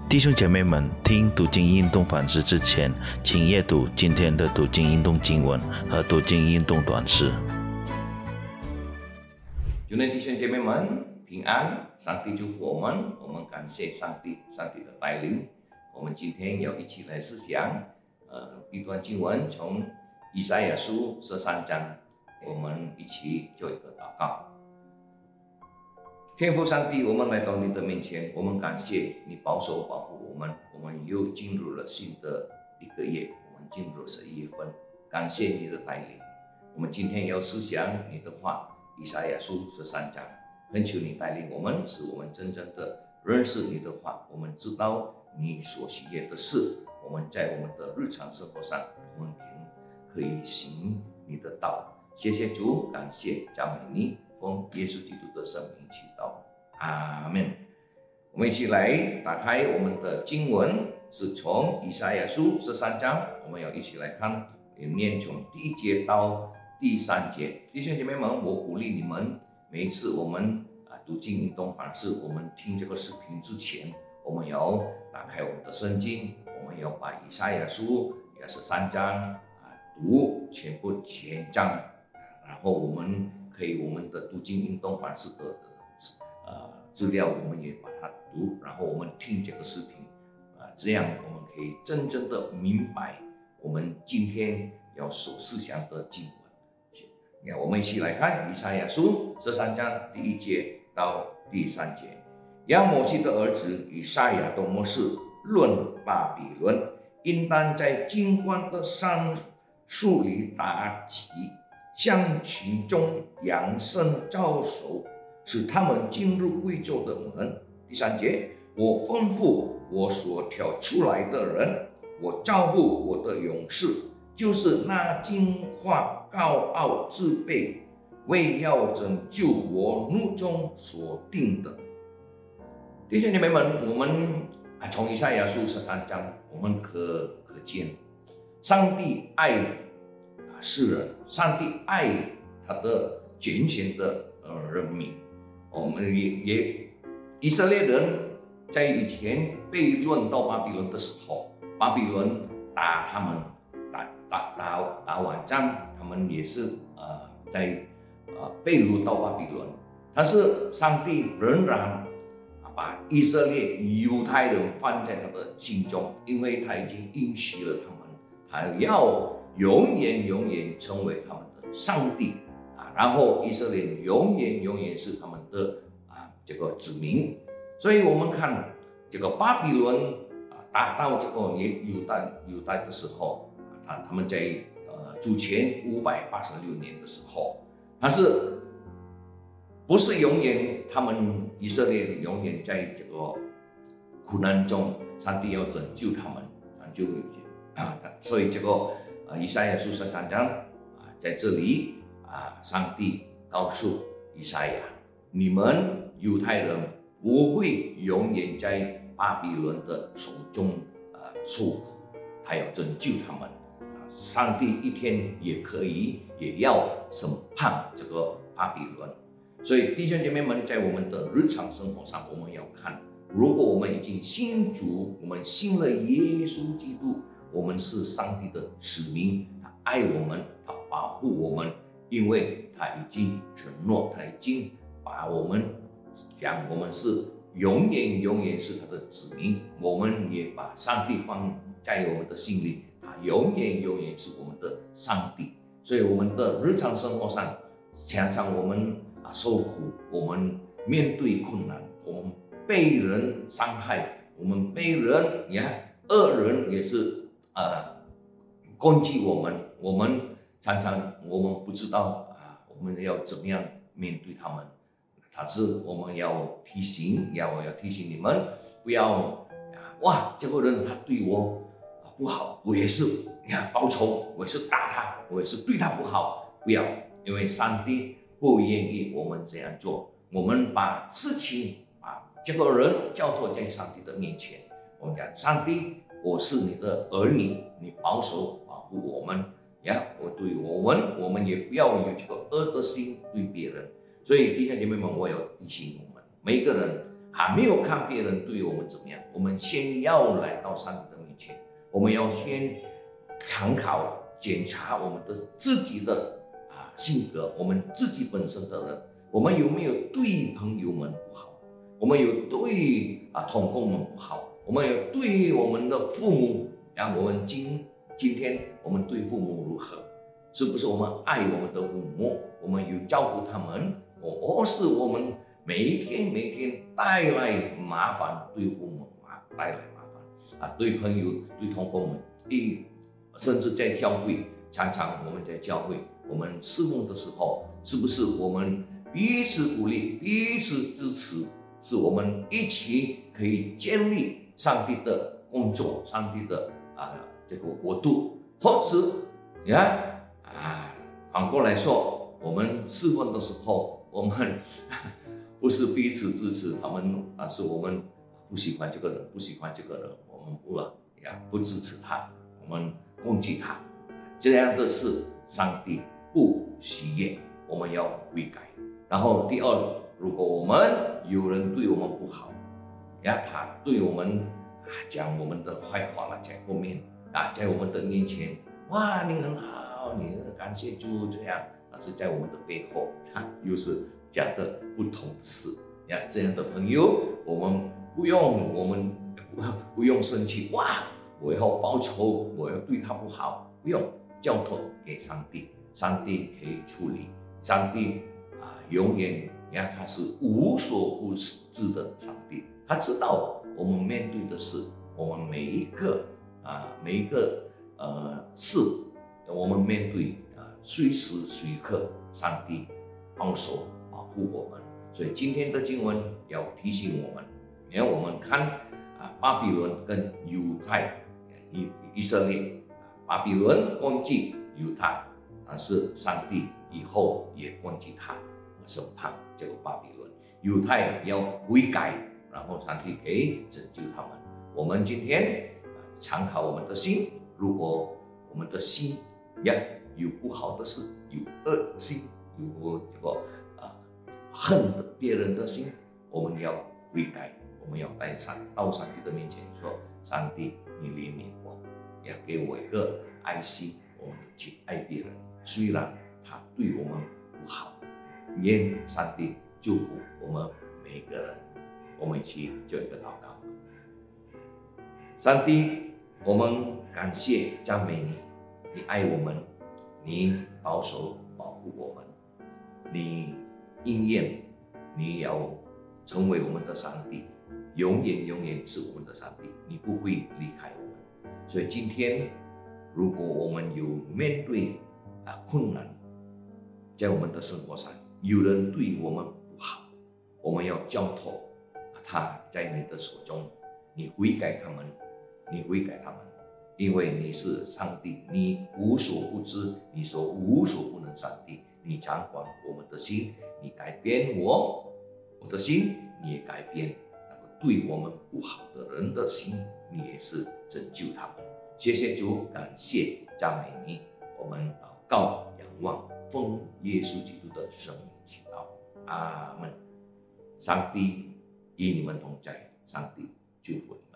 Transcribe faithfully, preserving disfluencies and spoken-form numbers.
弟兄姐妹们，听读经运动反思之前，请阅读今天的读经运动经文和读经运动短诗。 主内弟兄姐妹们平安，上帝祝福我们，我们感谢上帝，上帝的带领。我们今天要一起来思想，呃，一段经文，从以赛亚书十三章，我们一起做一个祷告。天父上帝，我们来到你的面前，我们感谢你保守保护我们，我们又进入了新的一个月，我们进入了十一月份，感谢你的带领。我们今天要思想你的话，以赛亚书十三章，恳求你带领我们，使我们真正的认识你的话，我们知道你所喜悦的事，我们在我们的日常生活上，我们可以行你的道。谢谢主，感谢赞美你，奉耶稣基督的圣名祈祷，阿们。我们一起来打开我们的经文，是从以赛亚书十三章，我们要一起来看，念从第一节到第三节。弟兄姐妹们，我鼓励你们，每一次我们啊读经运动反思，我们听这个视频之前，我们要打开我们的圣经，我们要把以赛亚书也十三章啊读全部全章。然后我们可以我们的读经运动反思的呃资料，我们也把它读，然后我们听这个视频，啊、呃，这样我们可以真正的明白我们今天要所思想的经文。那我们一起来看以赛亚书十三章第一节到第三节。亚摩西的儿子以赛亚的模式论巴比伦，应当在金冠的杉树里打起，向其中扬声招手，使他们进入贵胄的门。第三节，我吩咐我所挑出来的人，我招呼我的勇士，就是那惊慌高傲自卑，为要拯救我怒中所定的。弟兄姐妹们，我们从以赛亚书十三章，我们可可见，上帝爱世人，上帝爱他的拣选的呃人民。我们也也以色列人在以前被掳到巴比伦的时候，巴比伦打他们，打打打打完仗，他们也是呃在呃被掳到巴比伦。但是上帝仍然把以色列犹太人放在他的心中，因为他已经应许了他们，他要永远永远成为他们的上帝啊，然后以色列永远永远是他们的啊这个子民。所以我们看这个巴比伦啊打到这个犹大犹大的时候，他他们在呃主前五百八十六年的时候，但是不是永远他们以色列永远在这个苦难中，上帝要拯救他们，就啊，所以这个。啊，以赛亚书十三章啊，在这里啊，上帝告诉以赛亚，你们犹太人不会永远在巴比伦的手中啊受苦，他要拯救他们。啊，上帝一天也可以也要审判这个巴比伦。所以弟兄姐妹们，在我们的日常生活上，我们要看，如果我们已经信主，我们信了耶稣基督。我们是上帝的使命，他爱我们，他保护我们，因为他已经承诺，他已经把我们讲我们是永远永远是他的子民，我们也把上帝放在我们的心里，他永远永远是我们的上帝。所以我们的日常生活上，常常我们啊受苦，我们面对困难，我们被人伤害，我们被人你看恶人也是。呃，攻击我们，我们常常我们不知道啊，我们要怎么样面对他们？但是我们要提醒，要要提醒你们，不要啊，哇，这个人他对我啊不好，我也是你看报仇，我也是打他，我也是对他不好，不要，因为上帝不愿意我们这样做。我们把事情把这个人交托在上帝的面前，我们讲上帝。我是你的儿女，你保守保护我们呀！我对我们，我们也不要有这个恶的心对别人。所以弟兄姐妹们，我要提醒我们每一个人还没有看别人对我们怎么样，我们先要来到上帝的面前，我们要先参考检查我们的自己的啊性格，我们自己本身的人，我们有没有对朋友们不好，我们有对啊同工们不好，我们有对我们的父母，啊，我们今今天我们对父母如何？是不是我们爱我们的父母？我们有照顾他们，或是我们每一天每一天带来麻烦，对父母啊带来麻烦啊，对朋友、对同工们，一甚至在教会，常常我们在教会，我们侍奉的时候，是不是我们彼此鼓励、彼此支持，是我们一起可以建立上帝的工作、上帝的啊这个国度，或是呀。啊，反过来说，我们侍奉的时候，我们不是彼此支持他们，而是我们不喜欢这个人，不喜欢这个人，我们不呀不支持他，我们攻击他，这样的事，上帝不喜悦，我们要悔改。然后第二，如果我们有人对我们不好，呀，他对我们啊讲我们的坏话了，在后面啊，在我们的面前，哇，你很好。你感谢主这样，但是在我们的背后，他又是讲的不同的事呀。这样的朋友，我们不用，我们不不用生气哇！我要报仇，我要对他不好，不用交托给上帝，上帝可以处理。上帝啊，永远你看他是无所不知的上帝，他知道我们面对的事，我们每一个啊每一个呃事。我们面对啊，随时随刻，上帝保守保护我们。所以今天的经文要提醒我们，你看我们看啊，巴比伦跟犹太以以色列，巴比伦攻击犹太，但是上帝以后也攻击他，审判这个巴比伦。犹太要悔改，然后上帝可以拯救他们。我们今天啊，参考我们的心，如果我们的心呀，有不好的事，有恶心，有这个啊恨的别人的心，我们要悔改，我们要带上到上帝的面前说：上帝，你怜悯我，也给我一个爱心，我们去爱别人，虽然他对我们不好，愿上帝祝福我们每个人。我们一起做一个祷告。上帝，我们感谢赞美你。你爱我们，你保守保护我们，你应验，你要成为我们的上帝，永远永远是我们的上帝，你不会离开我们。所以今天，如果我们有面对啊困难，在我们的生活上，有人对我们不好，我们要交托他在你的手中，你悔改他们，你悔改他们。因为你是上帝，你无所不知，你说无所不能上帝，你掌管我们的心，你改变我我的心，你也改变那个对我们不好的人的心，你也是拯救他们。谢谢主，感谢赞美你，我们祷告仰望，奉耶稣基督的圣名祈祷，阿门。上帝与你们同在，上帝祝福你们。